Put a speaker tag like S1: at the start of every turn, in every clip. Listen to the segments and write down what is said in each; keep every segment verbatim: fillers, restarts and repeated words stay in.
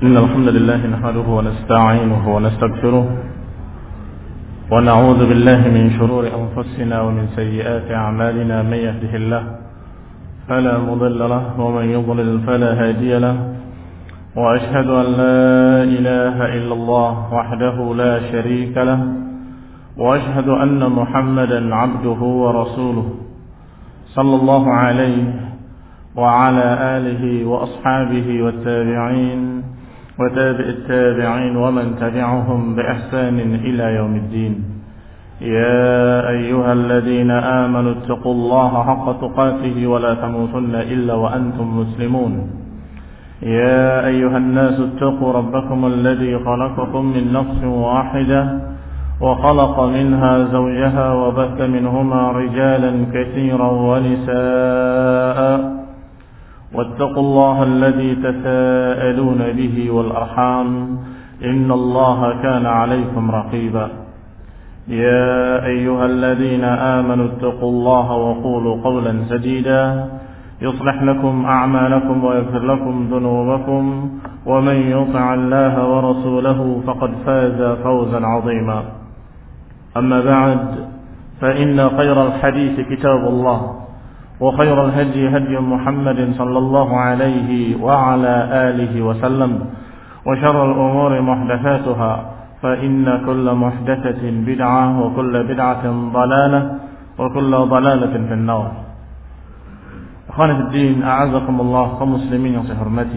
S1: إن الحمد لله نحمده ونستعينه ونستغفره ونعوذ بالله من شرور أنفسنا ومن سيئات أعمالنا. من يهده الله فلا مضل له ومن يضلل فلا هادي له، وأشهد أن لا إله إلا الله وحده لا شريك له، وأشهد أن محمدا عبده ورسوله صلى الله عليه وعلى آله وأصحابه والتابعين وتابع التابعين ومن تبعهم بإحسان إلى يوم الدين. يا أيها الذين آمنوا اتقوا الله حق تقاته ولا تموتن إلا وأنتم مسلمون. يا أيها الناس اتقوا ربكم الذي خلقكم من نفس واحدة وخلق منها زوجها وبث منهما رجالا كثيرا ونساء، واتقوا الله الذي تساءلون به والأرحام إن الله كان عليكم رقيبا. يا أيها الذين آمنوا اتقوا الله وقولوا قولا سديدا يصلح لكم أعمالكم ويغفر لكم ذنوبكم، ومن يطع الله ورسوله فقد فاز فوزا عظيما. أما بعد، فإن خير الحديث كتاب الله، وخير الهدي هدي محمد صلى الله عليه وعلى آله وسلم، وشر الأمور محدثاتها، فإن كل محدثة بدعة وكل بدعة ضلالة وكل ضلالة في النار. Akhwani fi din, a'azakumullah, kaum muslimin yang saya hormati.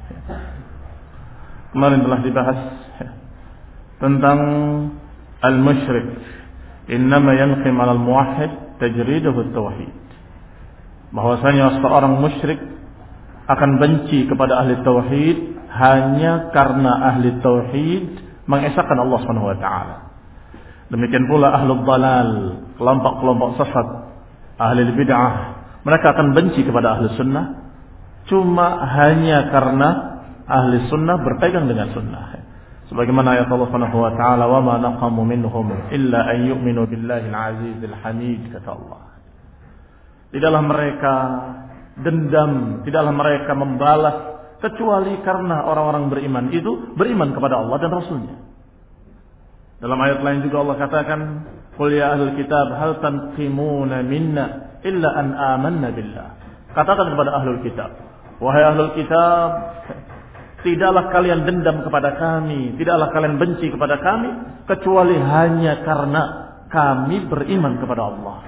S1: Kemarin telah dibahas tentang al-musyrik innama yanqim 'ala al-muwahhid tajriduhu at-tauhid. Bahwasanya seorang musyrik akan benci kepada ahli tauhid hanya karena ahli tauhid mengesahkan Allah Subhanahu wa taala. Demikian pula ahlul dalal, kelompok-kelompok sesat, ahli bid'ah, mereka akan benci kepada ahli sunnah cuma hanya karena ahli sunnah berpegang dengan sunnah. Sebagaimana ayat Allah Subhanahu wa taala, "Wa ma naqamu minhum illa an yu'minu billahi al-'azizil hamid," kata Allah. Tidaklah mereka dendam, tidaklah mereka membalas kecuali karena orang-orang beriman itu beriman kepada Allah dan Rasulnya. Dalam ayat lain juga Allah katakan, "Qul ya ahlul kitab hal tanqimuna minna illa an amanna billah." Katakan kepada ahlul kitab, wahai ahlul kitab, tidaklah kalian dendam kepada kami, tidaklah kalian benci kepada kami kecuali hanya karena kami beriman kepada Allah.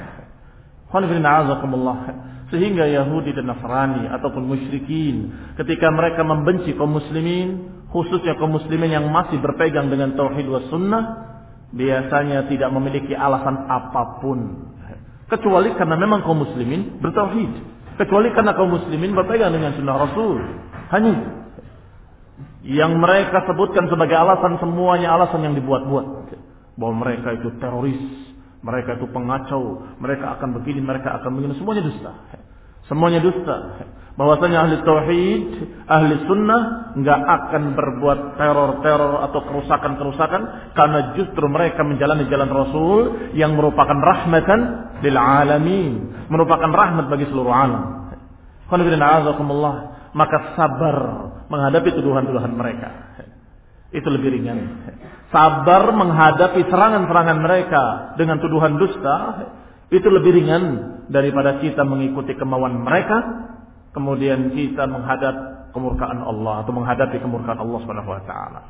S1: Sehingga Yahudi dan Nasrani ataupun musyrikin ketika mereka membenci kaum muslimin, khususnya kaum muslimin yang masih berpegang dengan tauhid was sunnah, biasanya tidak memiliki alasan apapun kecuali karena memang kaum muslimin bertauhid, kecuali karena kaum muslimin berpegang dengan sunnah Rasul. Hanya itu yang mereka sebutkan sebagai alasan, semuanya alasan yang dibuat-buat, bahwa mereka itu teroris, mereka itu pengacau, mereka akan begini, mereka akan begini, semuanya dusta. Semuanya dusta. Bahwasanya ahli tauhid, ahli sunnah enggak akan berbuat teror-teror atau kerusakan-kerusakan karena justru mereka menjalani jalan Rasul yang merupakan rahmatan lil alamin, merupakan rahmat bagi seluruh alam. Maka sabar menghadapi tuduhan-tuduhan mereka itu lebih ringan. Sabar menghadapi serangan-serangan mereka dengan tuduhan dusta itu lebih ringan daripada kita mengikuti kemauan mereka, kemudian kita menghadap kemurkaan Allah atau menghadapi kemurkaan Allah Subhanahu wa taala.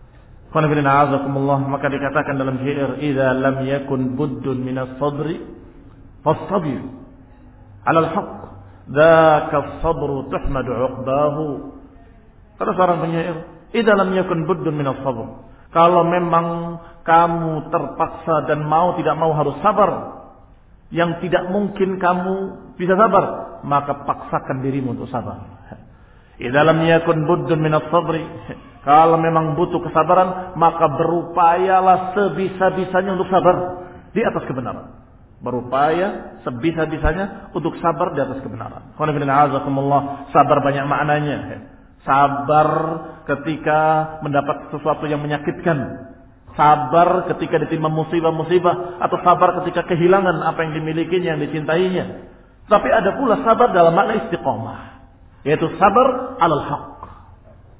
S1: Maka dikatakan dalam syair, "Idza lam yakun buddun minas sabri fastabir 'ala al-haqq, dzaka as-sabru tuhmadu 'uqbahu." Kata seorang penyair, "Idza lam yakun buddun minas sabr." Kalau memang kamu terpaksa dan mau tidak mau harus sabar, yang tidak mungkin kamu bisa sabar, maka paksakan dirimu untuk sabar. Idza lam yakun buddun minas sabri, kalau memang butuh kesabaran, maka berupayalah sebisa-bisanya untuk sabar di atas kebenaran. Berupaya sebisa-bisanya untuk sabar di atas kebenaran. Sabar banyak maknanya. Sabar ketika mendapat sesuatu yang menyakitkan, sabar ketika ditimpa musibah-musibah, atau sabar ketika kehilangan apa yang dimilikinya, yang dicintainya. Tapi ada pula sabar dalam makna istiqomah, yaitu sabar alal haq,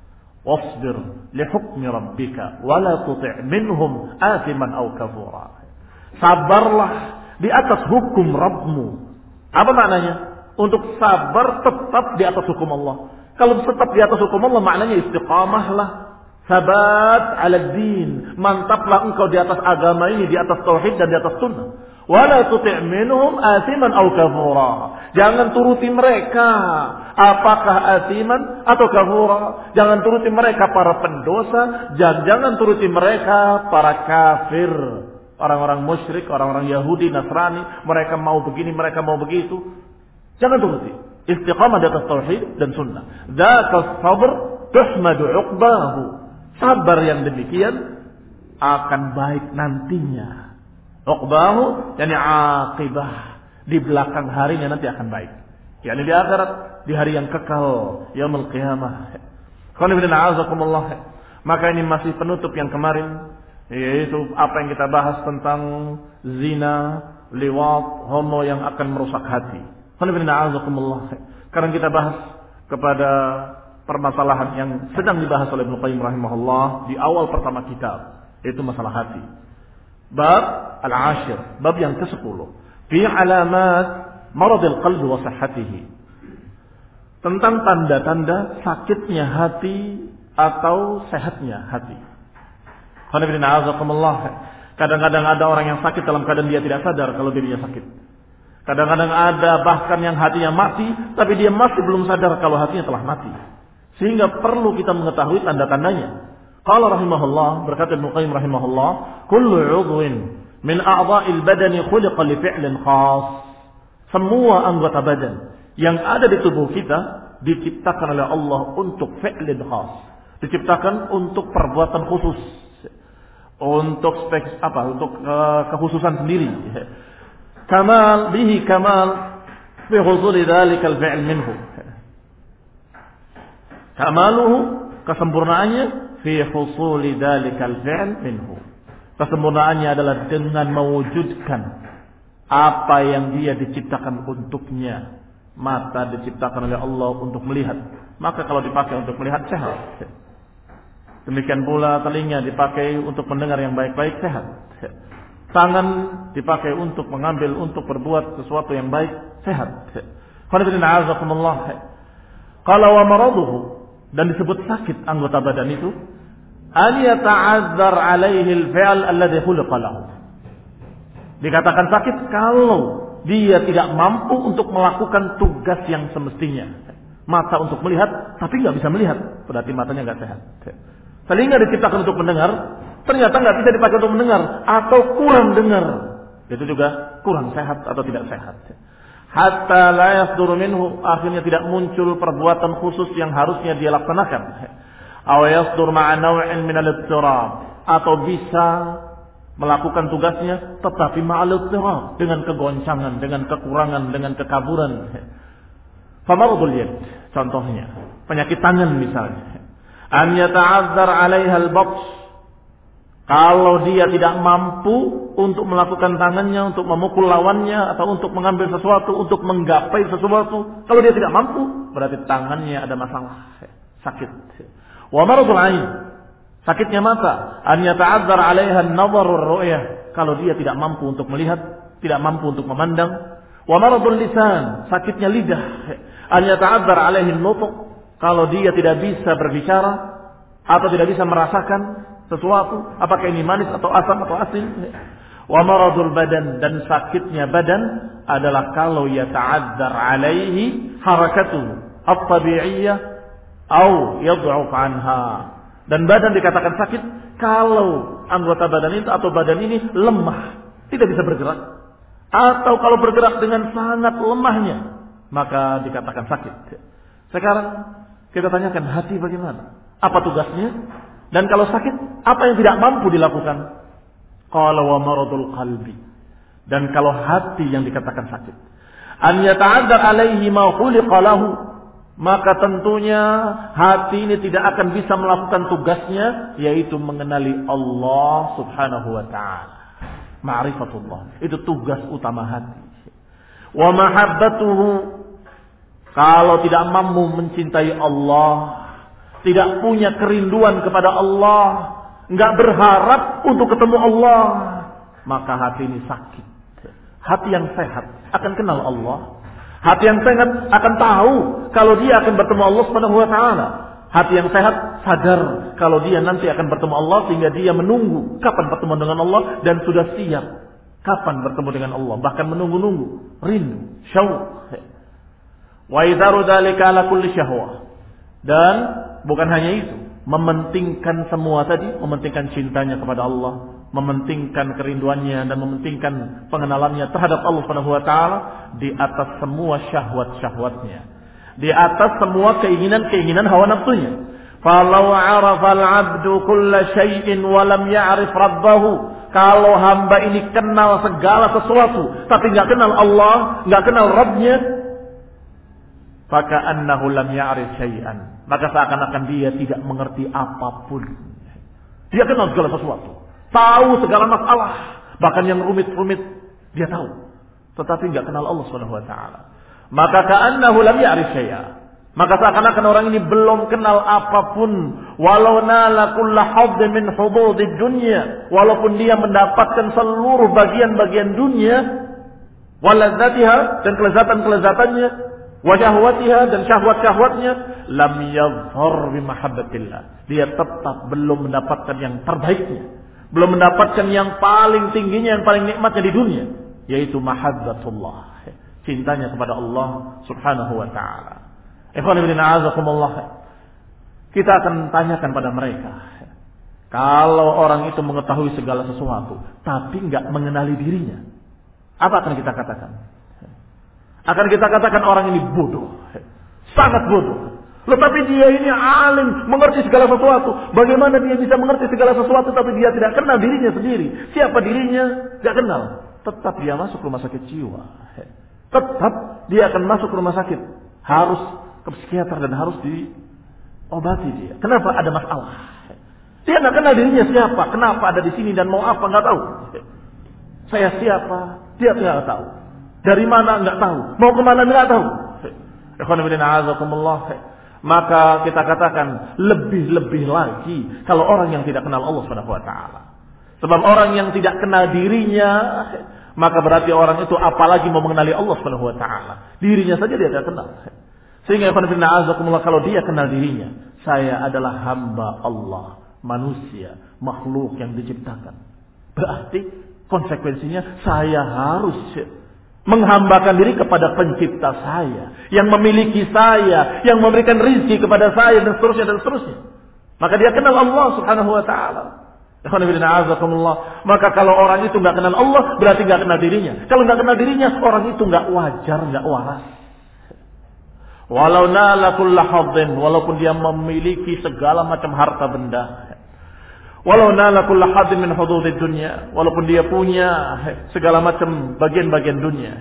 S1: wasbir li hukmi rabbika wa la tuti' minhum athiman aw kafura. Sabarlah di atas hukum Rabbmu. Apa maknanya? Untuk sabar tetap di atas hukum Allah. Kalau tetap di atas hukum Allah maknanya istiqamahlah, sabat ala din, mantaplah engkau di atas agama ini, di atas tauhid dan di atas sunnah. Wala tuti' minhum athiman aw kafura. Jangan turuti mereka apakah athiman atau kafura. Jangan turuti mereka para pendosa, dan jangan turuti mereka para kafir, orang-orang musyrik, orang-orang Yahudi, Nasrani. Mereka mau begini, mereka mau begitu. Jangan turuti. Istiqamah di atas tauhid dan sunnah. Dzaka sabr tuhmadu 'uqbahu. Sabar yang demikian akan baik nantinya. 'Uqbahu yani aqibah, di belakang harinya nanti akan baik. Yani di akhirat, di hari yang kekal, yaumul qiyamah. Qul inna a'azakumullah. Maka ini masih penutup yang kemarin, yaitu apa yang kita bahas tentang zina, liwat, homo yang akan merusak hati. Sekarang kita bahas kepada permasalahan yang sedang dibahas oleh Ibnu Qayyim rahimahullah di awal pertama kitab, yaitu masalah hati. Bab al-ashir, bab yang kesepuluh, fi alamat maradil qalbi wa sihhatihi. Tentang tanda-tanda sakitnya hati atau sehatnya hati. Kadang-kadang ada orang yang sakit dalam keadaan dia tidak sadar kalau dirinya sakit. Kadang-kadang ada bahkan yang hatinya mati, tapi dia masih belum sadar kalau hatinya telah mati. Sehingga perlu kita mengetahui tanda-tandanya. Qala rahimahullah, berkata Ibnu Qayyim rahimahullah, kullu 'udwin min a'dha'il badani khuliqa li fi'lin khas. Semua anggota badan yang ada di tubuh kita diciptakan oleh Allah untuk fi'lin khas. Diciptakan untuk perbuatan khusus. Untuk spek apa? Untuk uh, kekhususan sendiri. Kamal bihi kamal fi husuli dzalikal fi'l minhu. Kamaluhu, kesempurnaannya fi husuli dzalikal fi'l minhu. Kesempurnaannya adalah dengan mewujudkan apa yang dia diciptakan untuknya. Mata diciptakan oleh Allah untuk melihat, maka kalau dipakai untuk melihat sehat. Demikian pula telinga dipakai untuk mendengar yang baik-baik, sehat. Tangan dipakai untuk mengambil, untuk berbuat sesuatu yang baik, sehat. Qala wa maraduhu, dan disebut sakit anggota badan itu, an yata'azzar alaihi al-fi'l alladhi khuliqa lahu. Dikatakan sakit kalau dia tidak mampu untuk melakukan tugas yang semestinya. Mata untuk melihat, tapi nggak bisa melihat, berarti matanya nggak sehat. Telinga diciptakan untuk mendengar, ternyata nggak bisa dipakai untuk mendengar atau kurang dengar, itu juga kurang sehat atau tidak sehat. Hatta la yasduru minhu, akhirnya tidak muncul perbuatan khusus yang harusnya dia laksanakan. Aw yasdur ma'a naw'in min al-ittirab, atau bisa melakukan tugasnya tetapi ma'al ittirab, dengan kegoncangan, dengan kekurangan, dengan kekaburan. Famaradul yad, contohnya penyakit tangan misalnya. An yata'azzar 'alaiha al-batsh, kalau dia tidak mampu untuk melakukan tangannya, untuk memukul lawannya, atau untuk mengambil sesuatu, untuk menggapai sesuatu, kalau dia tidak mampu, berarti tangannya ada masalah, sakit. Wa maradul 'ain, sakitnya mata. An yata'azzar 'alaiha an-nazar war-ru'yah, kalau dia tidak mampu untuk melihat, tidak mampu untuk memandang. Wa maradul lisan, sakitnya lidah. An yata'azzar 'alaihi an-nutq, kalau dia tidak bisa berbicara atau tidak bisa merasakan sesuatu, apakah ini manis atau asam atau asin. Wa maradul badan, dan sakitnya badan adalah kalau yata'azzar 'alaihi harakatuhu at-tabi'iyyah au yad'uf 'anha. Dan badan dikatakan sakit kalau anggota badan itu atau badan ini lemah, tidak bisa bergerak, atau kalau bergerak dengan sangat lemahnya, maka dikatakan sakit. Sekarang kita tanyakan hati bagaimana? Apa tugasnya? Dan kalau sakit, apa yang tidak mampu dilakukan? Qala wa maradul qalbi. Dan kalau hati yang dikatakan sakit, an yata'azzar 'alaihi ma khuliqa lahu, maka tentunya hati ini tidak akan bisa melakukan tugasnya, yaitu mengenali Allah Subhanahu wa ta'ala. Ma'rifatullah, itu tugas utama hati. Wa mahabbatuhu, kalau tidak mampu mencintai Allah,
S2: tidak punya kerinduan kepada Allah, enggak berharap untuk ketemu Allah, maka hati ini sakit. Hati yang sehat akan kenal Allah. Hati yang sehat akan tahu kalau dia akan bertemu Allah Subhanahu wa taala. Hati yang sehat sadar kalau dia nanti akan bertemu Allah, sehingga dia menunggu kapan bertemu dengan Allah dan sudah siap kapan bertemu dengan Allah, bahkan menunggu-nunggu, rindu, syauq. Wa idzaru dzalika ala kulli syahwah. Dan bukan hanya itu, mementingkan semua tadi, mementingkan cintanya kepada Allah, mementingkan kerinduannya dan mementingkan pengenalannya terhadap Allah Subhanahu wa taala di atas semua syahwat-syahwatnya, di atas semua keinginan-keinginan hawa nafsunya. Falau 'arafa al-'abdu kulla syai'in wa lam ya'rif rabbahu. Kalau hamba ini kenal segala sesuatu tapi enggak kenal Allah, enggak kenal Rabbnya, faka'annahu lam ya'rif syai'an. Maka seakan-akan dia tidak mengerti apapun. Dia kenal segala sesuatu, tahu segala masalah, bahkan yang rumit-rumit dia tahu, tetapi enggak kenal Allah Subhanahu wa taala. Maka ka'annahu lam ya'rif syai'a. Maka seakan-akan orang ini belum kenal apapun. Walau nala kulla hadd min hududid dunya, walaupun dia mendapatkan seluruh bagian-bagian dunia, waladzatiha, dan kelezatan-kelezatannya, wa syahwatiha, dan syahwat-syahwatnya, lam yadhhar bi mahabbatillah. Dia tetap belum mendapatkan yang terbaiknya, belum mendapatkan yang paling tingginya, yang paling nikmatnya di dunia, yaitu mahabbatullah, cintanya kepada Allah Subhanahu wa taala. Ikhwan fillah, a'azakumullah. Kita akan tanyakan pada mereka, kalau orang itu mengetahui segala sesuatu tapi enggak mengenali dirinya, apa akan kita katakan? Akan kita katakan orang ini bodoh, sangat bodoh. Loh, tapi dia ini alim, mengerti segala sesuatu. Bagaimana dia bisa mengerti segala sesuatu tapi dia tidak kenal dirinya sendiri? Siapa dirinya? Tidak kenal. Tetap dia masuk rumah sakit jiwa. Tetap dia akan masuk rumah sakit, harus ke psikiater dan harus diobati dia. Kenapa? Ada masalah. Dia tidak kenal dirinya siapa, kenapa ada di sini dan mau apa nggak tahu. Saya siapa? Dia tidak tahu. Dari mana nggak tahu. Mau kemana nggak tahu. Ikhwan fillah, a'azakumullah. Maka kita katakan lebih-lebih lagi kalau orang yang tidak kenal Allah Subhanahu wa taala. Sebab orang yang tidak kenal dirinya, maka berarti orang itu apalagi mau mengenali Allah Subhanahu wa taala. Dirinya saja dia tidak kenal. Sehingga ikhwan fillah, a'azakumullah, kalau dia kenal dirinya, saya adalah hamba Allah, manusia, makhluk yang diciptakan. Berarti konsekuensinya saya harus menghambakan diri kepada pencipta saya, yang memiliki saya, yang memberikan rizki kepada saya, dan seterusnya dan seterusnya. Maka dia kenal Allah Subhanahu wa taala. Ikhwan fillah, a'azakumullah. Maka kalau orang itu enggak kenal Allah, berarti enggak kenal dirinya. Kalau enggak kenal dirinya, orang itu enggak wajar, enggak waras. Walau nala kulla haddin, walaupun dia memiliki segala macam harta benda. Walau nala kulla haddin min hududid dunya, walaupun dia punya segala macam bagian-bagian dunia.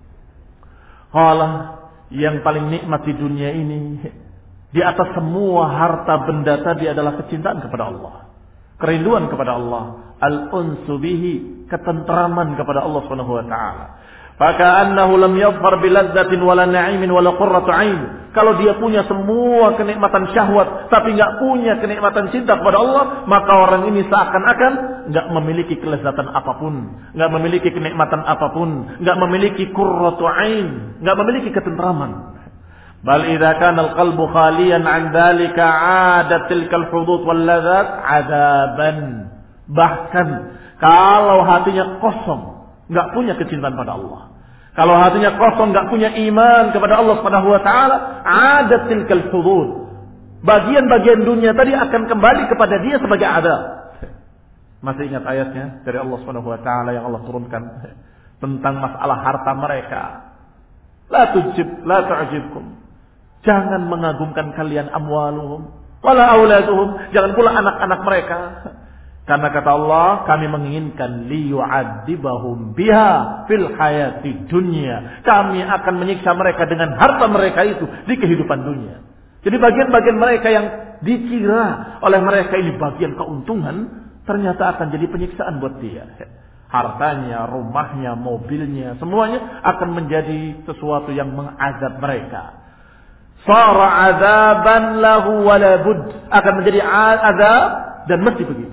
S2: Qala, yang paling nikmat di dunia ini, di atas semua harta benda tadi adalah kecintaan kepada Allah, kerinduan kepada Allah, al-unsu bihi, ketentraman kepada Allah Subhanahu wa taala. Faka'annahu lam yadhhar biladzatin wala na'imin wala qurratu 'ain. Kalau dia punya semua kenikmatan syahwat tapi enggak punya kenikmatan cinta kepada Allah, maka orang ini seakan-akan enggak memiliki kelezatan apapun, enggak memiliki kenikmatan apapun, enggak memiliki qurratu 'ain, enggak memiliki ketentraman. Bal idza kana al-qalbu khaliyan 'an dzalika 'adat tilkal hudud wal ladzat 'adaban. Bahkan kalau hatinya kosong, enggak punya kecintaan pada Allah, kalau hatinya kosong, enggak punya iman kepada Allah Subhanahu wa taala, adat tilkal hudud, bagian-bagian dunia tadi akan kembali kepada dia sebagai adab. Masih ingat ayatnya dari Allah Subhanahu wa taala yang Allah turunkan tentang masalah harta mereka? La tujib, la tu'jibkum. Jangan mengagumkan kalian amwaluhum wala auladuhum, jangan pula anak-anak mereka. Karena kata Allah, kami menginginkan liyu'adzibahum biha fil hayati dunya. Kami akan menyiksa mereka dengan harta mereka itu di kehidupan dunia. Jadi bagian-bagian mereka yang dikira oleh mereka ini bagian keuntungan, ternyata akan jadi penyiksaan buat dia. Hartanya, rumahnya, mobilnya, semuanya akan menjadi sesuatu yang mengazab mereka. Sara adzaban lahu wala bud, akan menjadi azab dan mesti begitu.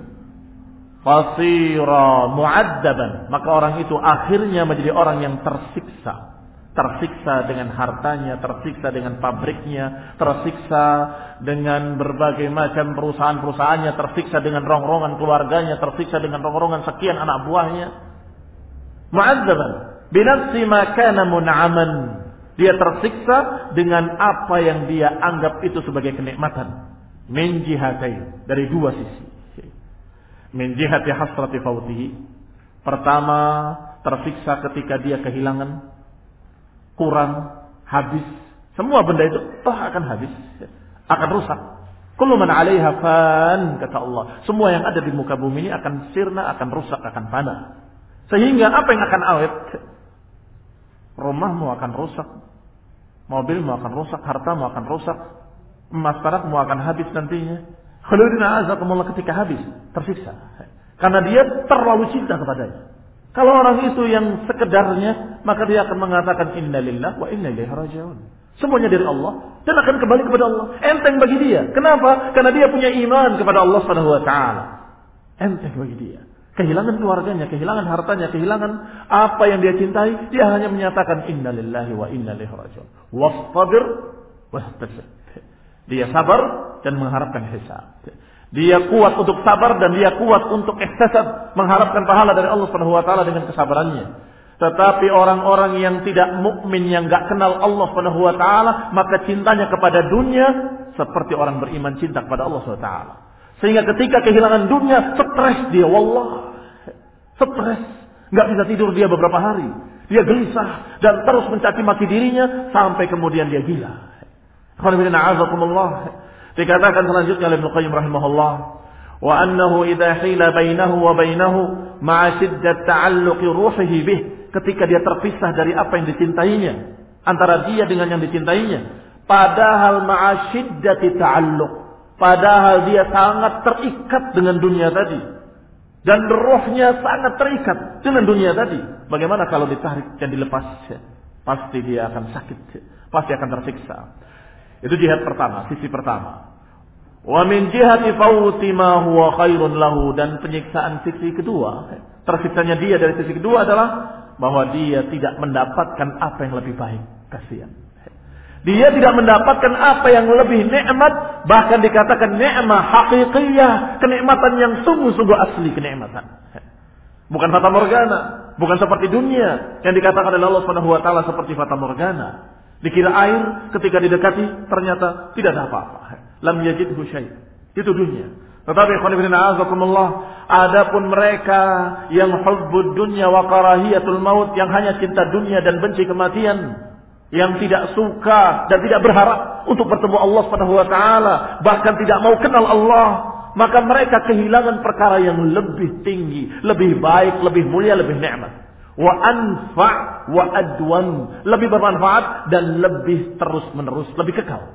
S2: Fasira mu'adzaban, maka orang itu akhirnya menjadi orang yang tersiksa. Tersiksa dengan hartanya, tersiksa dengan pabriknya, tersiksa dengan berbagai macam perusahaan-perusahaannya, tersiksa dengan rongrongan keluarganya, tersiksa dengan rongrongan sekian anak buahnya. Mu'adzaban binafsi ma kana mun'aman. Dia tersiksa dengan apa yang dia anggap itu sebagai kenikmatan. Min jihatain, dari dua sisi. Min jihati hasrati fautihi. Pertama, tersiksa ketika dia kehilangan, kurang, habis. Semua benda itu toh akan habis, akan rusak. Kullu man 'alaiha fan, kata Allah. Semua yang ada di muka bumi ini akan sirna, akan rusak, akan panah. Sehingga apa yang akan awet? Rumahmu akan rusak, mobilmu akan rusak, hartamu akan rusak, emas perakmu akan habis nantinya. Khalidina azakumullah, ketika habis, tersiksa. Karena dia terlalu cinta kepadanya. Kalau orang itu yang sekedarnya, maka dia akan mengatakan inna lillah wa inna ilaihi raji'un. Semuanya dari Allah dan akan kembali kepada Allah. Enteng bagi dia. Kenapa? Karena dia punya iman kepada Allah Subhanahu wa taala. Enteng bagi dia. Kehilangan keluarganya, kehilangan hartanya, kehilangan apa yang dia cintai, dia hanya menyatakan inna lillahi wa inna ilaihi raji'un. Wastabir wahtasib. Dia sabar dan mengharapkan hisab. Dia kuat untuk sabar dan dia kuat untuk ihtisab, mengharapkan pahala dari Allah Subhanahu wa taala dengan kesabarannya. Tetapi orang-orang yang tidak mukmin, yang enggak kenal Allah Subhanahu wa taala, maka cintanya kepada dunia seperti orang beriman cinta kepada Allah Subhanahu wa taala. Sehingga ketika kehilangan dunia, stres dia, wallah. Stres, enggak bisa tidur dia beberapa hari. Dia gelisah dan terus mencaci maki dirinya sampai kemudian dia gila. Alhamdulillah. Dikatakan selanjutnya oleh Ibnu Qayyim rahimahullah, wa annahu idza hila bainahu wa bainahu ma'a shiddat ta'alluqi ruhihi bih, ketika dia terpisah dari apa yang dicintainya, antara dia dengan yang dicintainya, padahal ma'a shiddati ta'alluq, padahal dia sangat terikat dengan dunia tadi dan ruhnya sangat terikat dengan dunia tadi. Bagaimana kalau ditarik dan dilepas? Pasti dia akan sakit, pasti akan tersiksa. Itu jihad pertama, sisi pertama. Wa min jihati fawti ma huwa khairun lahu, dan penyiksaan sisi kedua, tersiksanya dia dari sisi kedua adalah bahwa dia tidak mendapatkan apa yang lebih baik. Kasihan. Dia tidak mendapatkan apa yang lebih nikmat, bahkan dikatakan nikmat haqiqiyah, kenikmatan yang sungguh-sungguh asli kenikmatan. Bukan fata morgana, bukan seperti dunia yang dikatakan oleh Allah Subhanahu wa taala seperti fata morgana. Dikira air, ketika didekati ternyata tidak ada apa-apa. Lam yajidhu syai'. Itu dunia. Tetapi ikhwan fillah a'azakumullah, adapun mereka yang hubbud dunya wa karahiyatul maut, yang hanya cinta dunia dan benci kematian, yang tidak suka dan tidak berharap untuk bertemu Allah Subhanahu wa taala, bahkan tidak mau kenal Allah, maka mereka kehilangan perkara yang lebih tinggi, lebih baik, lebih mulia, lebih nikmat. Wa anfa' wa adwan, lebih bermanfaat dan lebih terus menerus, lebih kekal.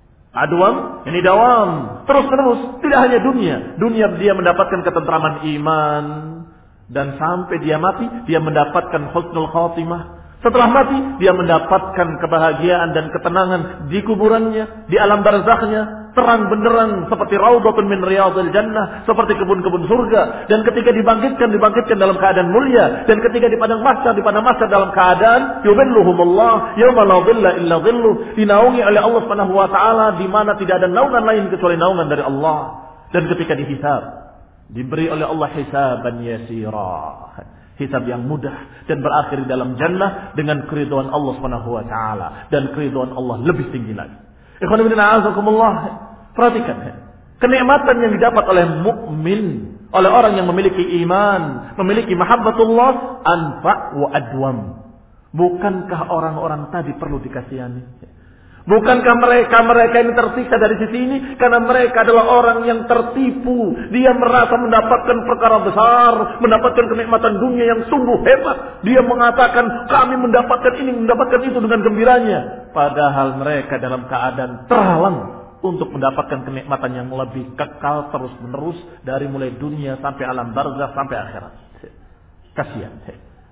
S2: Adwan, ini dawam, terus menerus, tidak hanya dunia. Dunia dia mendapatkan ketentraman iman, dan sampai dia mati dia mendapatkan husnul khatimah. Setelah mati dia mendapatkan kebahagiaan dan ketenangan di kuburannya, di alam barzakhnya, terang benderang seperti raudhatun min riyadhil jannah, seperti kebun-kebun surga. Dan ketika dibangkitkan, dibangkitkan dalam keadaan mulia. Dan ketika di padang mahsyar, di padang mahsyar dalam keadaan yudhilluhumullah yauma la dhilla illa dhilluh, dinaungi oleh Allah Subhanahu wa taala di mana tidak ada naungan lain kecuali naungan dari Allah. Dan ketika dihisab, diberi oleh Allah hisaban yasira, hisab yang mudah, dan berakhir dalam jannah dengan keridhaan Allah Subhanahu wa taala, dan keridhaan Allah lebih tinggi lagi. Ikhwan fillah a'azakumullah, perhatikan kenikmatan yang didapat oleh mukmin, oleh orang yang memiliki iman, memiliki mahabbatullah, anfa' wa adwam. Bukankah orang-orang tadi perlu dikasihani? Bukankah mereka-mereka ini tersiksa dari sisi ini karena mereka adalah orang yang tertipu. Dia merasa mendapatkan perkara besar, mendapatkan kenikmatan dunia yang sungguh hebat. Dia mengatakan kami mendapatkan ini, mendapatkan itu dengan gembiranya. Padahal mereka dalam keadaan terhalang untuk mendapatkan kenikmatan yang lebih kekal terus menerus, dari mulai dunia sampai alam barzakh sampai akhirat. Kasihan.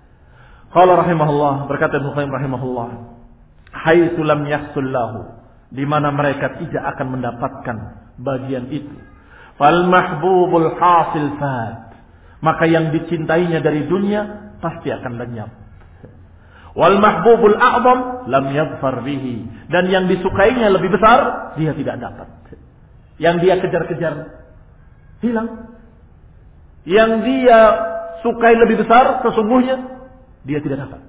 S2: Qala rahimahullah, berkata Ibnu Qayyim rahimahullah, haitsu lam yahsul lahu di mana mereka tidak akan mendapatkan bagian itu. Fal mahbubul hasil fad, maka yang dicintainya dari dunia pasti akan lenyap. Wal mahbubul a'zam lam yadhfar bihi, dan yang disukainya lebih besar dia tidak dapat. Yang dia kejar-kejar hilang. Yang dia sukai lebih besar sesungguhnya dia tidak dapat.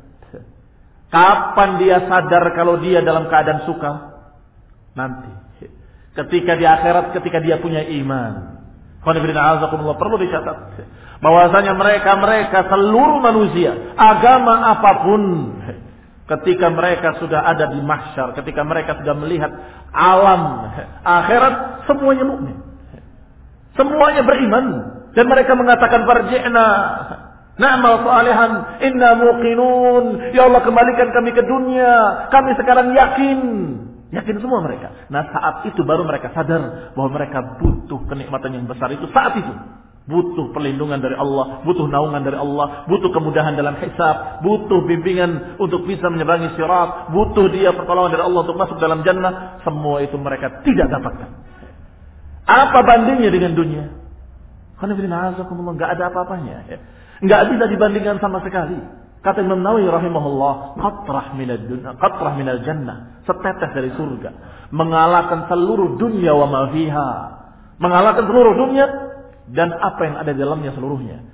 S2: Kapan dia sadar kalau dia dalam keadaan suka? Nanti. Ketika di akhirat, ketika dia punya iman. Perlu dicatat bahwasanya mereka-mereka seluruh manusia, agama apapun, ketika mereka sudah ada di mahsyar, ketika mereka sudah melihat alam akhirat, semuanya mukmin. Semuanya beriman dan mereka mengatakan farji'na na'mal salihan inna muqinun, ya Allah kembalikan kami ke dunia, kami sekarang yakin. Yakin semua mereka. Nah saat itu baru mereka sadar bahwa mereka butuh kenikmatan yang besar itu saat itu. Butuh perlindungan dari Allah, butuh naungan dari Allah, butuh kemudahan dalam hisab, butuh bimbingan untuk bisa menyeberangi sirat, butuh dia pertolongan dari Allah untuk masuk dalam jannah. Semua itu mereka tidak dapatkan. Apa bandingnya dengan dunia? Karena nggak ada apa-apanya. Nggak bisa dibandingkan sama sekali. Kata Imam Nawawi rahimahullah, qatrah minad dunya, qatrah minal jannah, setetes dari surga, mengalahkan seluruh dunia wa ma fiha, mengalahkan seluruh dunia dan apa yang ada di dalamnya seluruhnya.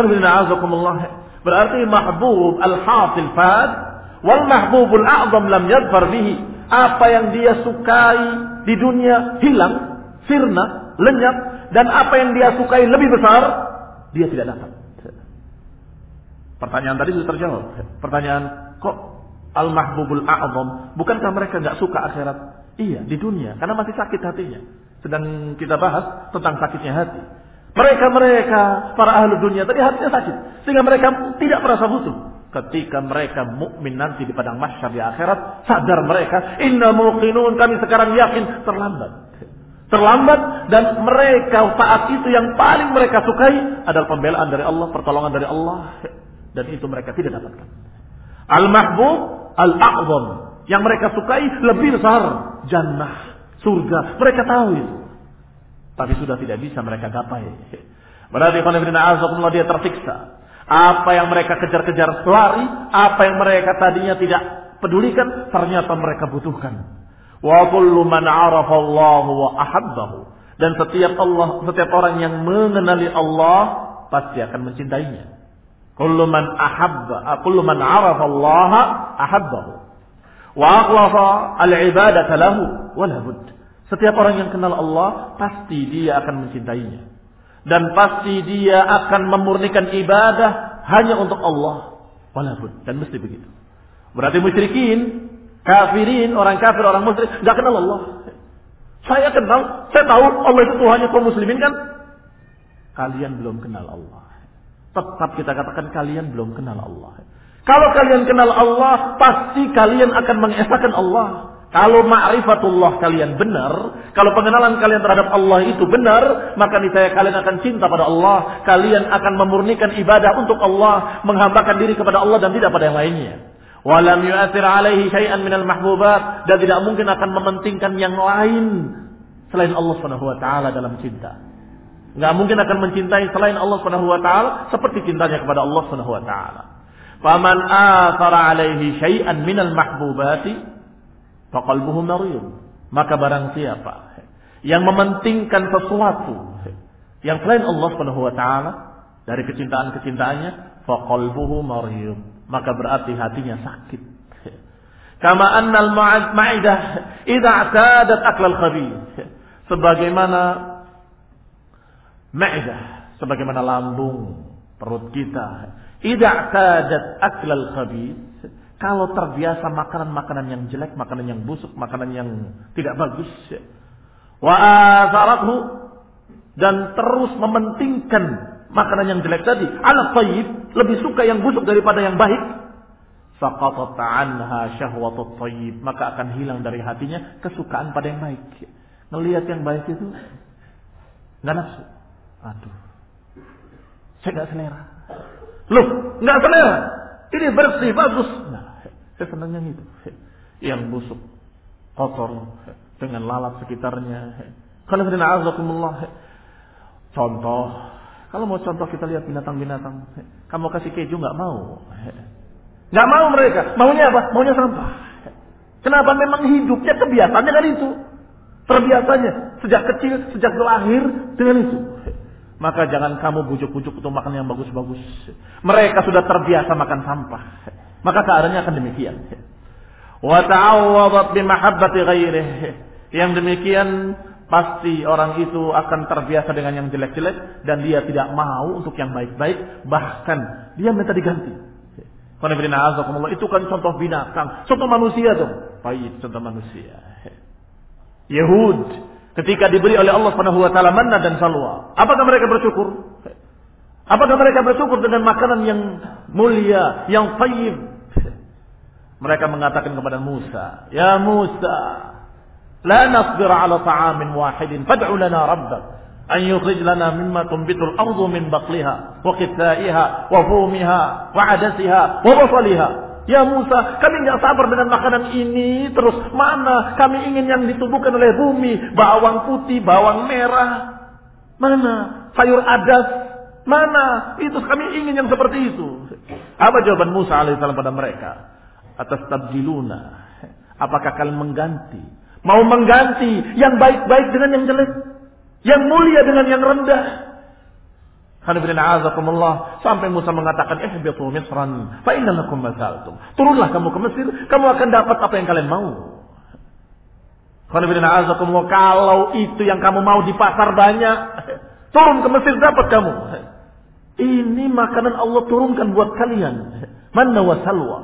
S2: Berarti mahbub al-hasil fad wal mahbubul a'zam lam yadfar bihi. Apa yang dia sukai di dunia hilang, sirna, lenyap, dan apa yang dia sukai lebih besar dia tidak dapat. Pertanyaan tadi sudah terjawab. Pertanyaan, kok al-mahbubul a'zam? Bukankah mereka enggak suka akhirat? Iya, di dunia, karena masih sakit hatinya. Sedang kita bahas tentang sakitnya hati. Mereka-mereka, para ahli dunia tadi hatinya sakit, sehingga mereka tidak merasa butuh. Ketika mereka mukmin nanti di padang mahsyar di akhirat, sadar mereka, inna muqinun, kami sekarang yakin, terlambat. Terlambat, dan mereka saat itu yang paling mereka sukai adalah pembelaan dari Allah, pertolongan dari Allah. Dan itu mereka tidak dapatkan. Al-mahbub al-a'zam, yang mereka sukai lebih besar, jannah, surga. Mereka tahu itu, tapi sudah tidak bisa mereka gapai. Berarti kalau dia tersiksa. Apa yang mereka kejar-kejar lari, apa yang mereka tadinya tidak pedulikan, ternyata mereka butuhkan. Wa kullu man 'arafa Allah wa ahabbahu, dan setiap Allah, setiap orang yang mengenali Allah pasti akan mencintainya. Kullu man ahabba, kullu man 'arafa Allah ahabbahu wa akhlafa al-ibadata lahu wala bud. Setiap orang yang kenal Allah pasti dia akan mencintainya dan pasti dia akan memurnikan ibadah hanya untuk Allah, wala bud, dan mesti begitu. Berarti musyrikin, kafirin, orang kafir, orang musyrik enggak kenal Allah. Saya kenal, saya tahu Allah itu Tuhannya kaum muslimin kan? Kalian belum kenal Allah. Tetap kita katakan kalian belum kenal Allah. Kalau kalian kenal Allah, pasti kalian akan mengesahkan Allah. Kalau ma'rifatullah kalian benar, kalau pengenalan kalian terhadap Allah itu benar, maka niscaya kalian akan cinta pada Allah. Kalian akan memurnikan ibadah untuk Allah, menghambakan diri kepada Allah dan tidak pada yang lainnya. Walam yu'athir alaihi syai'an minal mahbubat, dan tidak mungkin akan mementingkan yang lain selain Allah Subhanahu wa taala dalam cinta. Enggak mungkin akan mencintai selain Allah Subhanahu wa taala seperti cintanya kepada Allah Subhanahu wa taala. Faman athara alaihi syai'an minal mahbubati faqalbuhu marid. Maka barang siapa yang mementingkan sesuatu yang selain Allah Subhanahu wa taala dari kecintaan-kecintaannya, faqalbuhu marid, maka berarti hatinya sakit. Kama annal ma'idah idza i'tadat aklal khabith. Sebagaimana ma'idah, sebagaimana lambung, perut kita, idza i'tadat aklal khabith, kalau terbiasa makanan-makanan yang jelek, makanan yang busuk, makanan yang tidak bagus, wa azarathu, dan terus mementingkan makanan yang jelek tadi, ala thayyib, lebih suka yang busuk daripada yang baik, saqatat anha syahwatut thayyib, maka akan hilang dari hatinya kesukaan pada yang baik. Ngelihat yang baik itu enggak nafsu. Aduh, saya enggak selera. Loh, enggak selera. Ini bersih, bagus. Nah, saya senang yang itu. Yang busuk, kotor, dengan lalat sekitarnya. Contoh, kalau mau contoh kita lihat binatang-binatang. Kamu kasih keju nggak mau, nggak mau mereka. Maunya apa? Maunya sampah. Kenapa? Memang hidupnya kebiasaannya kan itu, terbiasanya sejak kecil, sejak lahir dengan itu. Maka jangan kamu bujuk-bujuk untuk makan yang bagus-bagus. Mereka sudah terbiasa makan sampah. Maka keadaannya akan demikian. Wa ta'awwadat bi mahabbati ghairihi. Yang demikian pasti orang itu akan terbiasa dengan yang jelek-jelek dan dia tidak mau untuk yang baik-baik, bahkan dia minta diganti. Itu kan contoh binatang, contoh manusia dong. Baik, contoh manusia. Yahud ketika diberi oleh Allah Subhanahu wa taala manna dan salwa, apakah mereka bersyukur? Apakah mereka bersyukur dengan makanan yang mulia, yang thayyib? Mereka mengatakan kepada Musa, "Ya Musa, la nasbir 'ala ta'amin wahidin, fad'u lana rabbak an yukhrij lana mimma tunbitul ardu min baqliha wa qithaiha wa fumiha wa 'adasiha wa basaliha." Ya Musa, kami enggak sabar dengan makanan ini terus. Mana kami ingin yang ditumbuhkan oleh bumi, bawang putih, bawang merah. Mana sayur adas? Mana? Itu kami ingin yang seperti itu. Apa jawaban Musa alaihissalam pada mereka? Atas tabdiluna. Apakah kalian mengganti? Mau mengganti yang baik-baik dengan yang jelek? Yang mulia dengan yang rendah? Sampai Musa mengatakan, ihbitu Misran, fa inna lakum ma sa'altum. Turunlah kamu ke Mesir, kamu akan dapat apa yang kalian mau. Kalau itu yang kamu mau di pasar banyak, turun ke Mesir dapat kamu. Ini makanan Allah turunkan buat kalian. Manna wa salwa.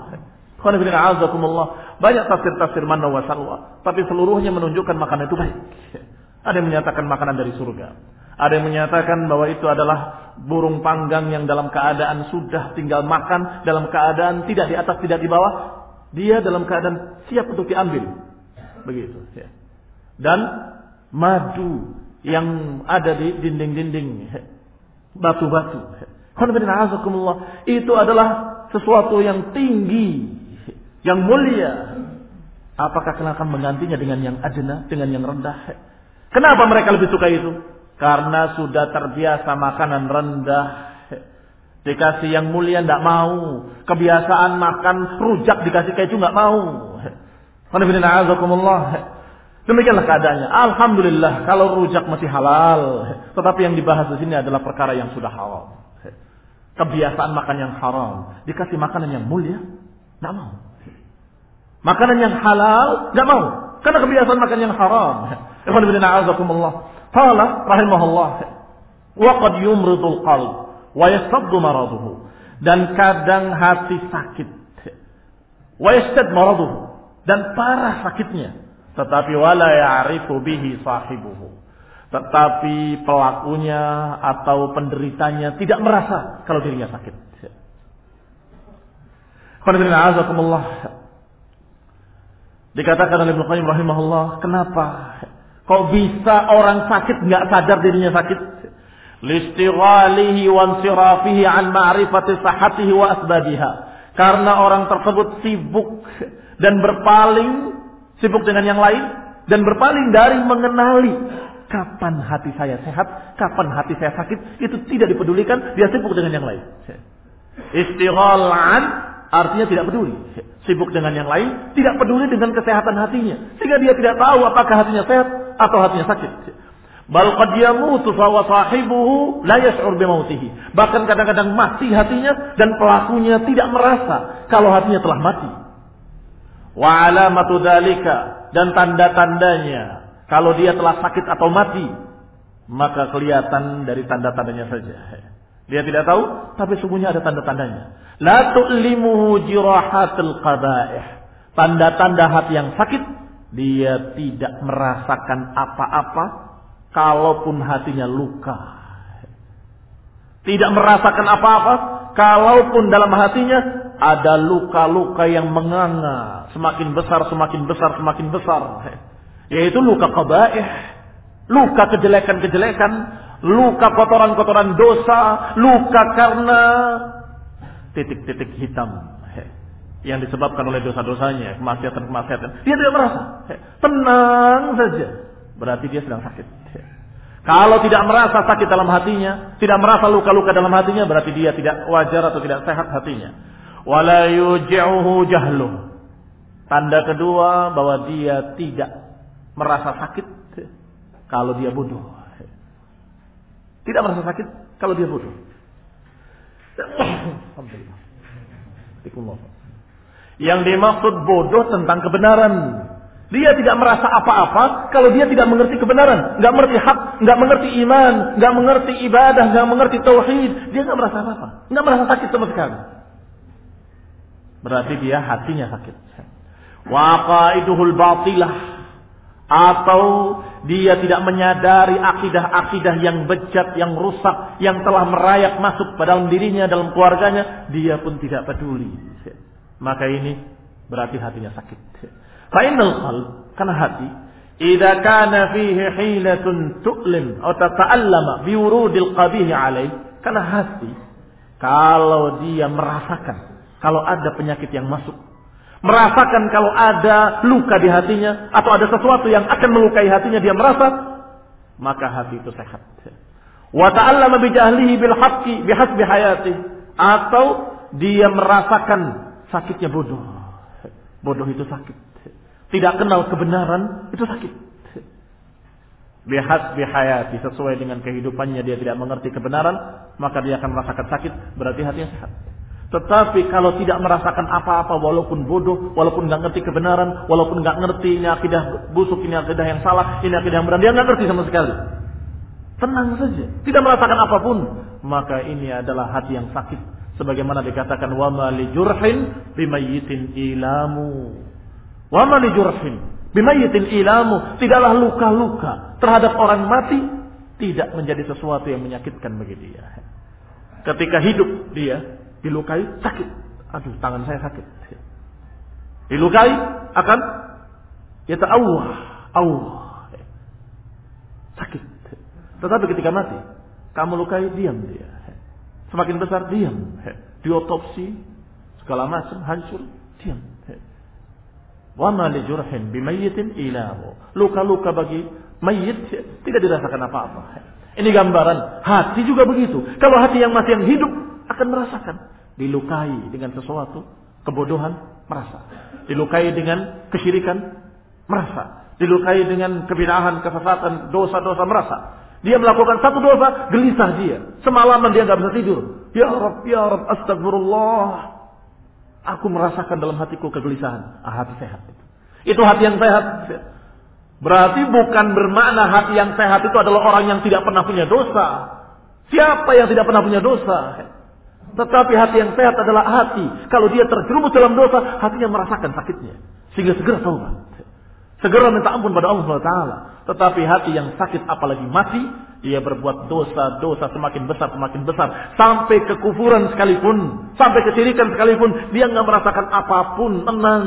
S2: Banyak tafsir-tafsir manna wa salwa, tapi seluruhnya menunjukkan makanan itu baik. Ada yang menyatakan makanan dari surga. Ada yang menyatakan bahwa itu adalah burung panggang yang dalam keadaan sudah tinggal makan, dalam keadaan tidak di atas, tidak di bawah. Dia dalam keadaan siap untuk diambil. Begitu. Dan madu yang ada di dinding-dinding, batu-batu. Itu adalah sesuatu yang tinggi, yang mulia. Apakah kalian akan menggantinya dengan yang adna, dengan yang rendah? Kenapa mereka lebih suka itu? Karena sudah terbiasa makanan rendah. Dikasih yang mulia tidak mau. Kebiasaan makan rujak dikasih keju tidak mau. Demikianlah keadaannya. Alhamdulillah kalau rujak masih halal. Tetapi yang dibahas di sini adalah perkara yang sudah halal. Kebiasaan makan yang haram. Dikasih makanan yang mulia tidak mau. Makanan yang halal tidak mau. Karena kebiasaan makan yang haram. Ikhwan fillah a'azakumullah. Qala rahimahullah, wa qad yumridul qalb wa yastaddu maraduhu. Dan kadang hati sakit. Wa yastad maraduhu, dan parah sakitnya. Tetapi wala ya'rifu bihi sahibuhu. Tetapi pelakunya atau penderitanya tidak merasa kalau dirinya sakit. Dikatakan oleh Ibnu Qayyim rahimahullah, kenapa kok bisa orang sakit nggak sadar dirinya sakit? Listighalihi wa insirafihi an ma'rifati sahhatihi wa asbabiha. Karena orang tersebut sibuk dan berpaling, sibuk dengan yang lain dan berpaling dari mengenali kapan hati saya sehat, kapan hati saya sakit, itu tidak dipedulikan, dia sibuk dengan yang lain. Istighal an artinya tidak peduli. Sibuk dengan yang lain, tidak peduli dengan kesehatan hatinya. Sehingga dia tidak tahu apakah hatinya sehat atau hatinya sakit. Bal qad yamutu fa sahibuhu la yash'ur bi mautihi. Bahkan kadang-kadang mati hatinya dan pelakunya tidak merasa kalau hatinya telah mati. Wa alamatu dzalika, dan tanda-tandanya kalau dia telah sakit atau mati, maka kelihatan dari tanda-tandanya saja. Dia tidak tahu, tapi sungguhnya ada tanda-tandanya. La tu'limuhu jirahatul qaba'ih. Tanda-tanda hati yang sakit, dia tidak merasakan apa-apa kalaupun hatinya luka. Tidak merasakan apa-apa kalaupun dalam hatinya ada luka-luka yang menganga, semakin besar, semakin besar, semakin besar. Yaitu luka qaba'ih, luka kejelekan-kejelekan, luka kotoran-kotoran dosa, luka karena titik-titik hitam. yang disebabkan oleh dosa-dosanya, kemaksiatan-kemaksiatan. Dia tidak merasa. Tenang saja. Berarti dia sedang sakit. Kalau tidak merasa sakit dalam hatinya, tidak merasa luka-luka dalam hatinya, berarti dia tidak wajar atau tidak sehat hatinya. Wala yuji'uhu jahluh. Tanda kedua bahwa dia tidak merasa sakit kalau dia bodoh. Tidak merasa sakit kalau dia bodoh. Alhamdulillah. Yang dimaksud bodoh tentang kebenaran. Dia tidak merasa apa-apa kalau dia tidak mengerti kebenaran, nggak mengerti hak, nggak mengerti iman, nggak mengerti ibadah, nggak mengerti tauhid. Dia nggak merasa apa-apa, nggak merasa sakit sama sekali. Berarti dia hatinya sakit. Waqaiduhul batilah, atau dia tidak menyadari akidah-akidah yang bejat, yang rusak, yang telah merayap masuk pada dalam dirinya, dalam keluarganya, dia pun tidak peduli. Maka ini berarti hatinya sakit. Fa'inal qalb, karena hati, idza kana fihi hilatun tu'lim atau tata'allama biwurudil qabih alaih, karena hati kalau dia merasakan kalau ada penyakit yang masuk, merasakan kalau ada luka di hatinya atau ada sesuatu yang akan melukai hatinya, dia merasa, maka hati itu sehat. Wa ta'allama bi jahlihi bil haqqi bihasbi hayati, atau dia merasakan sakitnya bodoh. Bodoh itu sakit. Tidak kenal kebenaran itu sakit. Bihasbi hayati, sesuai dengan kehidupannya dia tidak mengerti kebenaran, maka dia akan merasakan sakit, berarti hatinya sehat. Tetapi kalau tidak merasakan apa-apa, walaupun bodoh, walaupun nggak ngerti kebenaran, walaupun nggak ngerti ini akidah busuk, ini akidah yang salah, ini akidah yang benar, dia nggak ngerti sama sekali. Tenang saja, tidak merasakan apapun, maka ini adalah hati yang sakit. Sebagaimana dikatakan, wa ma li jurhin bimayyitin ilamu. Wa ma li jurhin bimayyitin ilamu. Tidaklah luka-luka terhadap orang mati tidak menjadi sesuatu yang menyakitkan bagi dia. Ketika hidup dia dilukai, sakit. Aduh, tangan saya sakit. Dilukai akan yata'awwah, Allah. Sakit. Tetapi ketika mati, kamu lukai, diam dia. Semakin besar, diam. Diotopsi, segala macam, hancur, diam. Wa ma li jurhin bimayyitin ilahu. Luka-luka bagi mayit tidak dirasakan apa-apa. Ini gambaran. Hati juga begitu. Kalau hati yang masih yang hidup akan merasakan. Dilukai dengan sesuatu, kebodohan, merasa. Dilukai dengan kesyirikan, merasa. Dilukai dengan kebid'ahan, kesesatan, dosa-dosa, merasa. Dia melakukan satu dosa, gelisah dia. Semalaman dia nggak bisa tidur. Ya Rabb, ya Rabb, astagfirullah. Aku merasakan dalam hatiku kegelisahan. Ah, hati sehat. Itu hati yang sehat. Berarti bukan bermakna hati yang sehat itu adalah orang yang tidak pernah punya dosa. Siapa yang tidak pernah punya dosa? Tetapi hati yang sehat adalah hati. Kalau dia terjerumus dalam dosa, hatinya merasakan sakitnya. Sehingga segera taubat. Segera minta ampun pada Allah subhanahu wa taala. Tetapi hati yang sakit apalagi mati, dia berbuat dosa-dosa semakin besar, semakin besar. Sampai kekufuran sekalipun, sampai kesyirikan sekalipun, dia nggak merasakan apapun, tenang.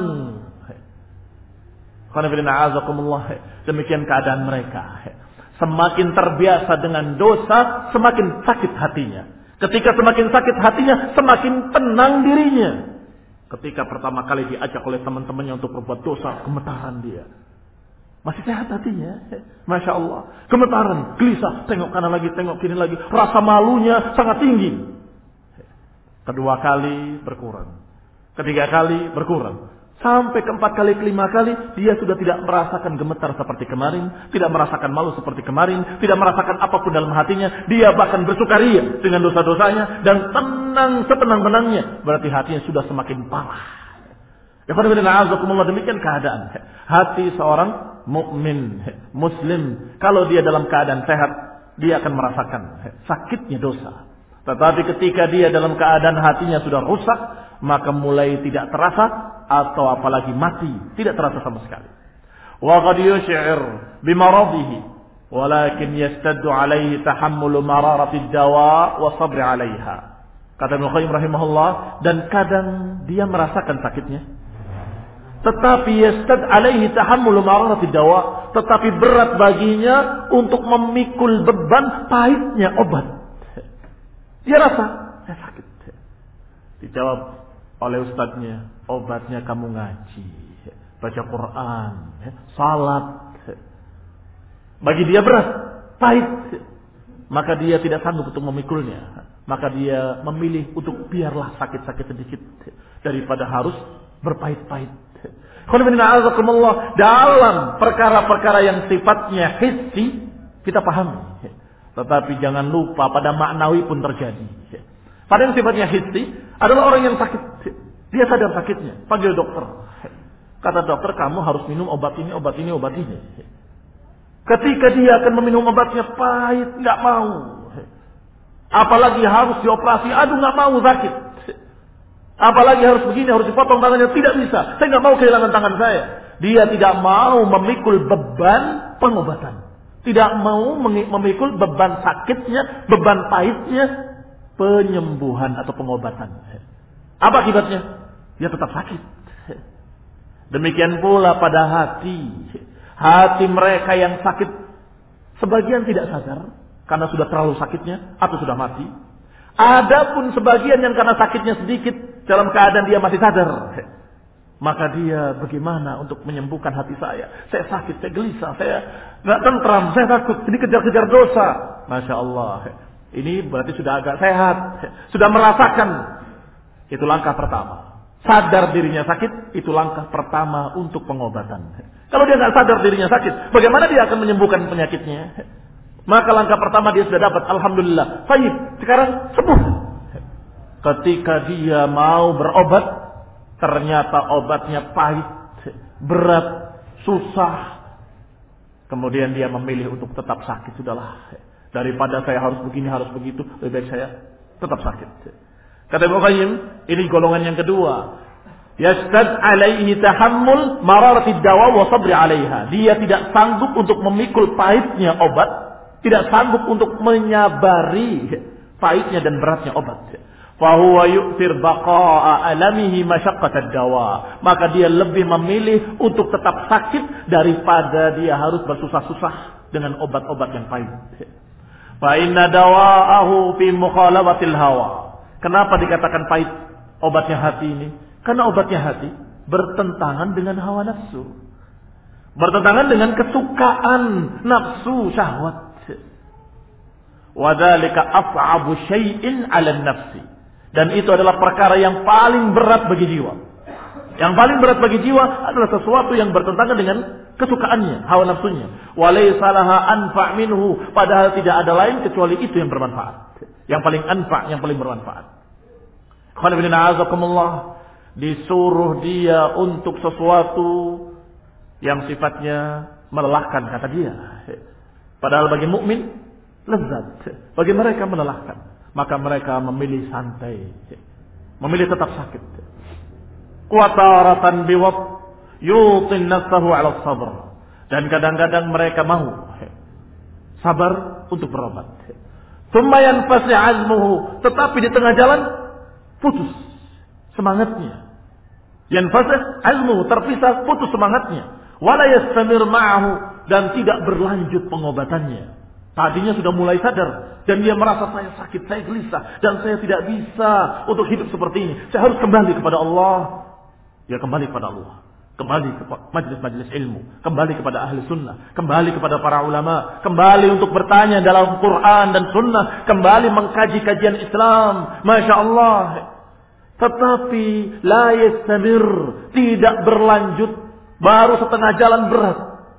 S2: Demikian keadaan mereka. Semakin terbiasa dengan dosa, semakin sakit hatinya. Ketika semakin sakit hatinya, semakin tenang dirinya. Ketika pertama kali diajak oleh teman-temannya untuk berbuat dosa, gemetaran dia. Masih sehat hatinya. Masya Allah. Gemetaran, gelisah, tengok kanan lagi, tengok kiri lagi. Rasa malunya sangat tinggi. Kedua kali berkurang. Ketiga kali berkurang. Sampai keempat kali, kelima kali, dia sudah tidak merasakan gemetar seperti kemarin. Tidak merasakan malu seperti kemarin. Tidak merasakan apapun dalam hatinya. Dia bahkan bersukaria dengan dosa-dosanya. Dan tenang setenang-tenangnya. Berarti hatinya sudah semakin parah. Ya, demikian keadaan hati seorang mukmin, muslim. Kalau dia dalam keadaan sehat, dia akan merasakan sakitnya dosa. Tetapi ketika dia dalam keadaan hatinya sudah rusak, maka mulai tidak terasa, atau apalagi mati, tidak terasa sama sekali. Wa qad yush'ir bimaradihi, walakin yastaddu alaihi tahammulu mararati ad-dawa wa sabr 'alaiha. Kata Ibnu Qayyim rahimahullah, dan kadang dia merasakan sakitnya, tetapi yastad alaihi tahammulu mararati dawa, tetapi berat baginya untuk memikul beban pahitnya obat. Dia rasa saya sakit. Dijawab oleh ustadznya, Obatnya kamu ngaji, baca Quran, salat. Bagi dia berat, pahit. Maka dia tidak sanggup untuk memikulnya. Maka dia memilih untuk biarlah sakit-sakit sedikit daripada harus berpahit-pahit. Dalam perkara-perkara yang sifatnya hissi kita pahami. Tetapi jangan lupa pada maknawi pun terjadi. Pada yang sifatnya hissi adalah orang yang sakit. Dia sadar sakitnya. Panggil dokter. Kata dokter, kamu harus minum obat ini, obat ini, obat ini. Ketika dia akan meminum obatnya pahit, nggak mau. Apalagi harus dioperasi, aduh nggak mau, sakit. Apalagi harus begini, harus dipotong tangannya, tidak bisa. Saya nggak mau kehilangan tangan saya. Dia tidak mau memikul beban pengobatan. Tidak mau memikul beban sakitnya, beban pahitnya, penyembuhan atau pengobatan. Apa akibatnya? Dia tetap sakit. Demikian pula pada hati. Hati mereka yang sakit, sebagian tidak sadar karena sudah terlalu sakitnya atau sudah mati. Adapun sebagian yang karena sakitnya sedikit dalam keadaan dia masih sadar. Maka dia bagaimana untuk menyembuhkan hati saya? Saya sakit, saya gelisah, saya nggak tentram, saya takut, ini kejar-kejar dosa. Masya Allah. Ini berarti sudah agak sehat, sudah merasakan. Itu langkah pertama. Sadar dirinya sakit, itu langkah pertama untuk pengobatan. Kalau dia nggak sadar dirinya sakit, bagaimana dia akan menyembuhkan penyakitnya? Maka langkah pertama dia sudah dapat, alhamdulillah. Baik, sekarang sembuh. Ketika dia mau berobat, ternyata obatnya pahit, berat, susah. Kemudian dia memilih untuk tetap sakit. Sudahlah, daripada saya harus begini, harus begitu, lebih baik saya tetap sakit. Kata Ibnu Qayyim, ini golongan yang kedua. Yastad alaihi tahammul mararati dawa wa sabri alaiha. Dia tidak sanggup untuk memikul pahitnya obat, tidak sanggup untuk menyabari pahitnya dan beratnya obat. Fa huwa yu'thir baqa'a alamihi masyaqqatad dawa. Maka dia lebih memilih untuk tetap sakit daripada dia harus bersusah-susah dengan obat-obat yang pahit. Fa inna dawa'ahu fi mukhalafatil hawa. Kenapa dikatakan pahit obatnya hati ini? Karena obatnya hati bertentangan dengan hawa nafsu. Bertentangan dengan kesukaan nafsu syahwat. Wadzalika as'abu syai'in 'ala nafsi. Dan itu adalah perkara yang paling berat bagi jiwa. Yang paling berat bagi jiwa adalah sesuatu yang bertentangan dengan kesukaannya, hawa nafsunya. Walaysa laha anfa' minhu, padahal tidak ada lain kecuali itu yang bermanfaat. Yang paling anfa', yang paling bermanfaat. Disuruh dia untuk sesuatu yang sifatnya melelahkan, kata dia. Padahal bagi mukmin lezat, bagi mereka melelahkan. Maka mereka memilih santai, memilih tetap sakit. Qataratan biwat yutin nafsahu 'ala sabr. Dan kadang-kadang mereka mau sabar untuk berobat. Tsumma yanfasi 'azmuhu, tetapi di tengah jalan putus semangatnya. Yanfasi 'azmuhu, terpisah, putus semangatnya. Wala yastamir ma'ahu, dan tidak berlanjut pengobatannya. Tadinya sudah mulai sadar dan dia merasa saya sakit, saya gelisah dan saya tidak bisa untuk hidup seperti ini. Saya harus kembali kepada Allah. Ya kembali kepada Allah. Kembali ke majelis-majelis ilmu, kembali kepada ahli sunnah, kembali kepada para ulama, kembali untuk bertanya dalam Quran dan sunnah, kembali mengkaji kajian Islam. Masya Allah. Tetapi la yastamir, tidak berlanjut, baru setengah jalan berat.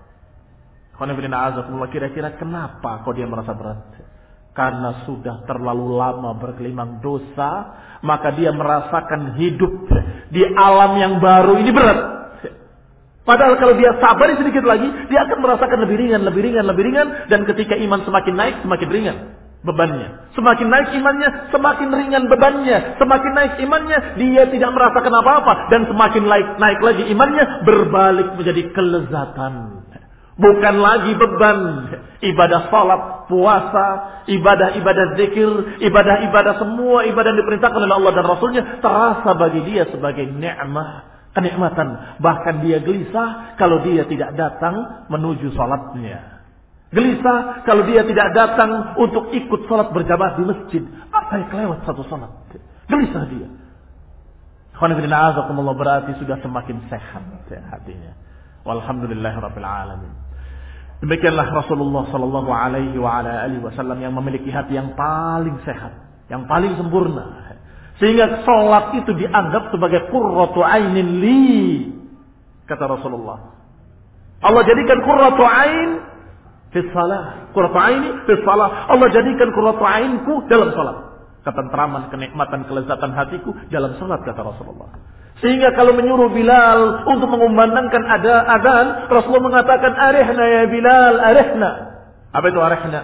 S2: Kira-kira kenapa kok dia merasa berat? Karena sudah terlalu lama bergelimang dosa, maka dia merasakan hidup di alam yang baru ini berat. Padahal kalau dia sabar sedikit lagi, dia akan merasakan lebih ringan, lebih ringan, lebih ringan. Dan ketika iman semakin naik, semakin ringan bebannya. Semakin naik imannya, semakin ringan bebannya. Semakin naik imannya, dia tidak merasakan apa-apa. Dan semakin naik, naik lagi imannya, berbalik menjadi kelezatan. Bukan lagi beban. Ibadah salat, puasa, ibadah-ibadah zikir, ibadah-ibadah semua ibadah yang diperintahkan oleh Allah dan Rasulnya terasa bagi dia sebagai nikmat, kenikmatan. Bahkan dia gelisah kalau dia tidak datang menuju salatnya. Gelisah kalau dia tidak datang untuk ikut salat berjamaah di masjid. Apa yang kelewat satu salat? Gelisah dia. berarti sudah semakin sehat hatinya. Walhamdulillahirabbil alamin. Demikianlah Rasulullah sallallahu alaihi wa ala alihi wasallam yang memiliki hati yang paling sehat, yang paling sempurna. Sehingga salat itu dianggap sebagai qurratu ainin li, kata Rasulullah. Allah jadikan qurratu ain fi shalah. Qurratu aini fi shalah. Allah jadikan qurratu ainku dalam salat. Ketentraman, kenikmatan, kelezatan hatiku dalam salat, kata Rasulullah. Sehingga kalau menyuruh Bilal untuk mengumandangkan ada azan, Rasulullah mengatakan, arihna ya Bilal, arihna. Apa itu arihna?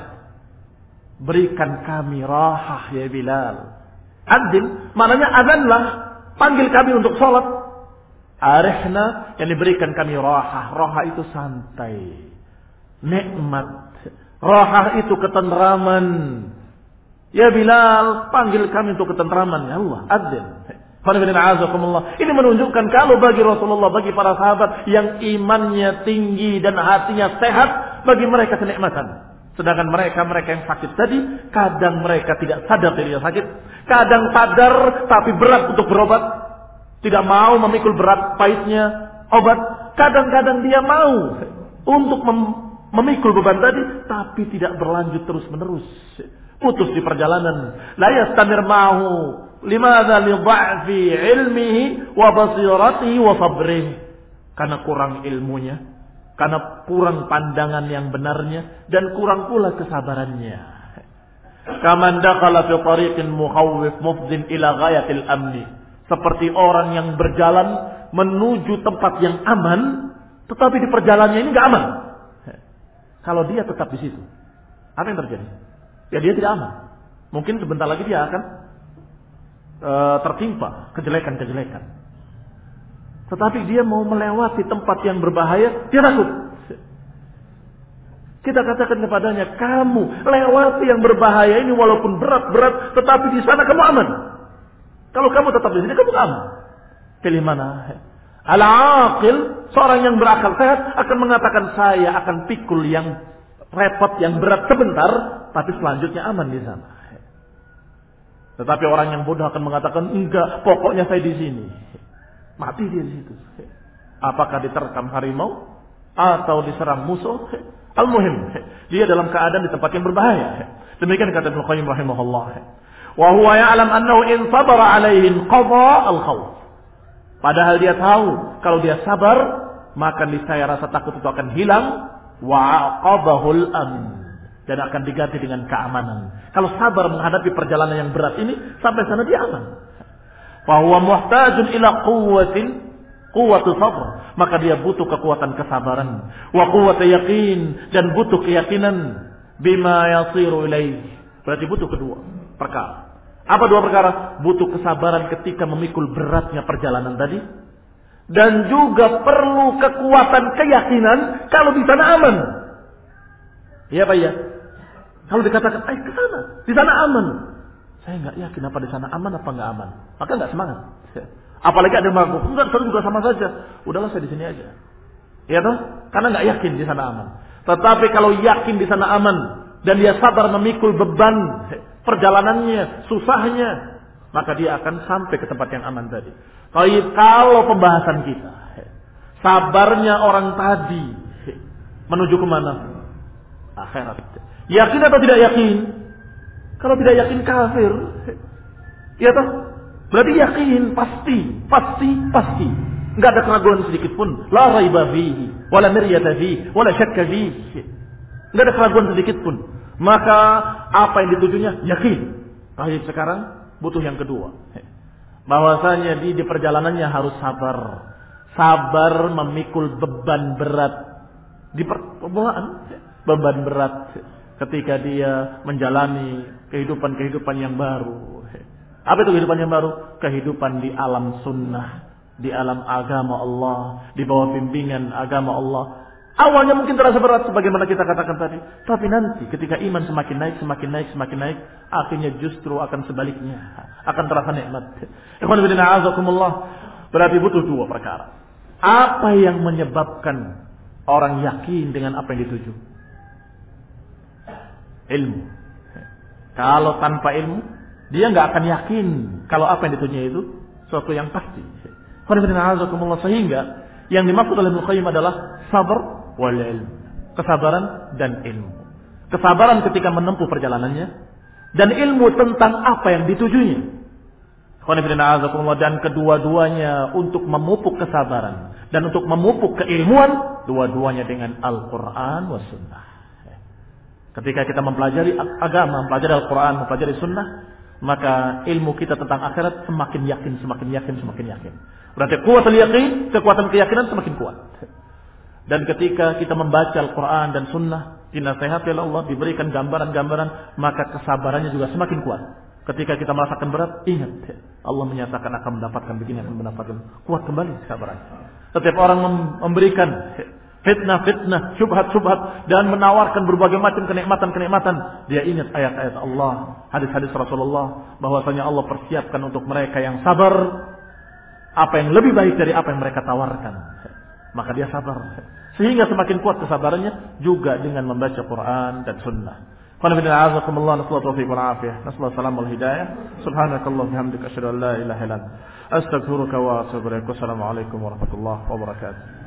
S2: Berikan kami rahah ya Bilal. Adzin, maknanya azanlah, panggil kami untuk salat. Arihna, yang diberikan kami rahah. Rahah itu santai, nikmat. Rahah itu ketentraman. Ya Bilal, panggil kami untuk ketentraman. Ya Allah, adzin. Ini menunjukkan kalau bagi Rasulullah, bagi para sahabat yang imannya tinggi dan hatinya sehat, bagi mereka kenikmatan. Sedangkan mereka-mereka yang sakit tadi, kadang mereka tidak sadar dirinya sakit, kadang sadar tapi berat untuk berobat, tidak mau memikul berat pahitnya obat. Kadang-kadang dia mau untuk mem- memikul beban tadi, tapi tidak berlanjut terus-menerus. Putus di perjalanan. La yastamir ma'hu. Limadha li dha'fi ilmihi wa basiratihi wa sabrihi. Karena kurang ilmunya, karena kurang pandangan yang benarnya, dan kurang pula kesabarannya. Kaman dakhala fi tariqin mukhawwif mufdin ila ghayatil amni. Seperti orang yang berjalan menuju tempat yang aman, tetapi di perjalanannya ini enggak aman. Kalau dia tetap di situ, apa yang terjadi? Ya dia tidak aman. Mungkin sebentar lagi dia akan e, tertimpa kejelekan-kejelekan. Tetapi dia mau melewati tempat yang berbahaya, dia takut. Kita katakan kepadanya, kamu lewati yang berbahaya ini walaupun berat-berat, tetapi di sana kamu aman. Kalau kamu tetap di sini, kamu aman. Pilih mana? Al-aqil, seorang yang berakal sehat akan mengatakan, saya akan pikul yang repot, yang berat sebentar, tapi selanjutnya aman di sana. Tetapi orang yang bodoh akan mengatakan, enggak, pokoknya saya di sini. Mati dia di situ. Apakah diterkam harimau atau diserang musuh? Al-muhim, dia dalam keadaan di tempat yang berbahaya. Demikian kata Ibnu Qayyim rahimahullah. Wa huwa ya'lam annahu in sabara 'alaihi qada al-khawf. Padahal dia tahu kalau dia sabar, maka niscaya rasa takut itu akan hilang. Wa'aqabahul amin, dan akan diganti dengan keamanan. Kalau sabar menghadapi perjalanan yang berat ini, sampai sana dia aman. Fa huwa muhtajun ila quwwatin quwwatu sabr, maka dia butuh kekuatan kesabaran, wa quwwatu yaqin, dan butuh keyakinan bima yasiru ilaih. Berarti butuh kedua perkara. Apa dua perkara? Butuh kesabaran ketika memikul beratnya perjalanan tadi, dan juga perlu kekuatan keyakinan kalau di sana aman. Iya Pak ya? Kalau dikatakan, "Eh, ke sana, di sana aman." Saya enggak yakin apa di sana aman apa enggak aman. Maka enggak semangat. Apalagi ada yang mengaku, "Enggak, saya juga sama saja." Udahlah, saya di sini aja. Iya toh? Karena enggak yakin di sana aman. Tetapi kalau yakin di sana aman dan dia sabar memikul beban perjalanannya, susahnya, maka dia akan sampai ke tempat yang aman tadi. Kalau pembahasan kita, sabarnya orang tadi menuju kemana? Akhirat. Yakin atau tidak yakin? Kalau tidak yakin kafir. Ya toh? Berarti yakin, pasti, pasti, pasti. Enggak ada keraguan sedikit pun. La raiba fihi, wala miryata fihi, wala syakka fihi. Enggak ada keraguan sedikit pun. Maka apa yang ditujunya? Yakin. Baik, sekarang butuh yang kedua. Bahwasanya di, di perjalanannya harus sabar. Sabar memikul beban berat di permulaan, beban berat ketika dia menjalani kehidupan-kehidupan yang baru. Apa itu kehidupan yang baru? Kehidupan di alam sunnah, di alam agama Allah, di bawah bimbingan agama Allah. Awalnya mungkin terasa berat sebagaimana kita katakan tadi, tapi nanti ketika iman semakin naik, semakin naik, semakin naik, akhirnya justru akan sebaliknya, akan terasa nikmat. Ikhwan fillah, a'azakumullah. Berarti butuh dua perkara. Apa yang menyebabkan orang yakin dengan apa yang dituju? Ilmu. Kalau tanpa ilmu, dia nggak akan yakin kalau apa yang ditujunya itu Suatu yang pasti. Sehingga yang dimaksud oleh Ibnu Qayyim adalah sabar wal ilm. Kesabaran dan ilmu. Kesabaran ketika menempuh perjalanannya. Dan ilmu tentang apa yang ditujunya. Dan kedua-duanya untuk memupuk kesabaran. Dan untuk memupuk keilmuan. Dua-duanya dengan Al-Quran wa Sunnah. Ketika kita mempelajari agama, mempelajari Al-Quran, mempelajari Sunnah. Maka ilmu kita tentang akhirat semakin yakin, semakin yakin, semakin yakin. Berarti kuatul yakin, kekuatan keyakinan semakin kuat. Dan ketika kita membaca Al-Quran dan Sunnah, dinasihati oleh Allah, diberikan gambaran-gambaran, maka kesabarannya juga semakin kuat. Ketika kita merasakan berat, ingat, Allah menyatakan akan mendapatkan begini, akan mendapatkan kuat kembali kesabarannya. Setiap orang memberikan fitnah-fitnah, syubhat-syubhat, dan menawarkan berbagai macam kenikmatan-kenikmatan, dia ingat ayat-ayat Allah, hadis-hadis Rasulullah, bahwasanya Allah persiapkan untuk mereka yang sabar apa yang lebih baik dari apa yang mereka tawarkan. Maka dia sabar. Sehingga semakin kuat kesabarannya juga dengan membaca Quran dan Sunnah. Subhanakallah bihamdika asyhadu an la ilaha illa anta astaghfiruka wa atubu ilaik. Wassalamu alaikum warahmatullahi wabarakatuh.